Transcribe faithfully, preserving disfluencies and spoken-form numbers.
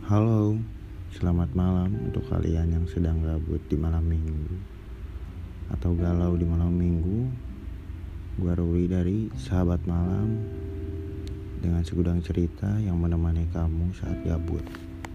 Halo, selamat malam untuk kalian yang sedang gabut di malam minggu atau galau di malam minggu. Gua Ruli dari Sahabat Malam dengan segudang cerita yang menemani kamu saat gabut.